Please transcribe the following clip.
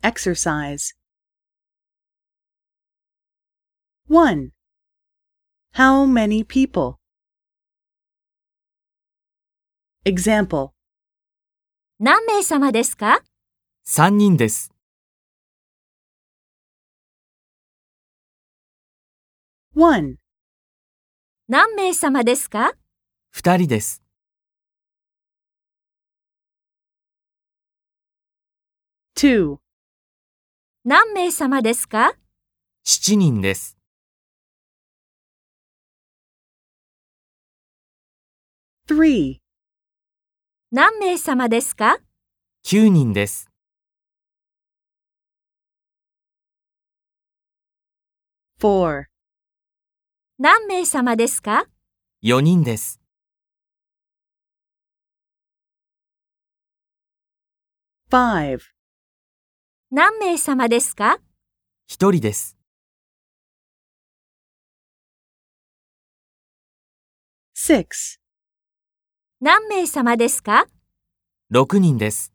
Exercise 1. How many people? Example 何名様ですか？ 3人です。 1. 何名様ですか？ 2人です。 2. 何名様ですか？ 7人です。 3. 何名様ですか？ 9人です。 4. 何名様ですか？ 4人です。 5. 何名様ですか？ 1人です。 6. 何名様ですか？ 6人です。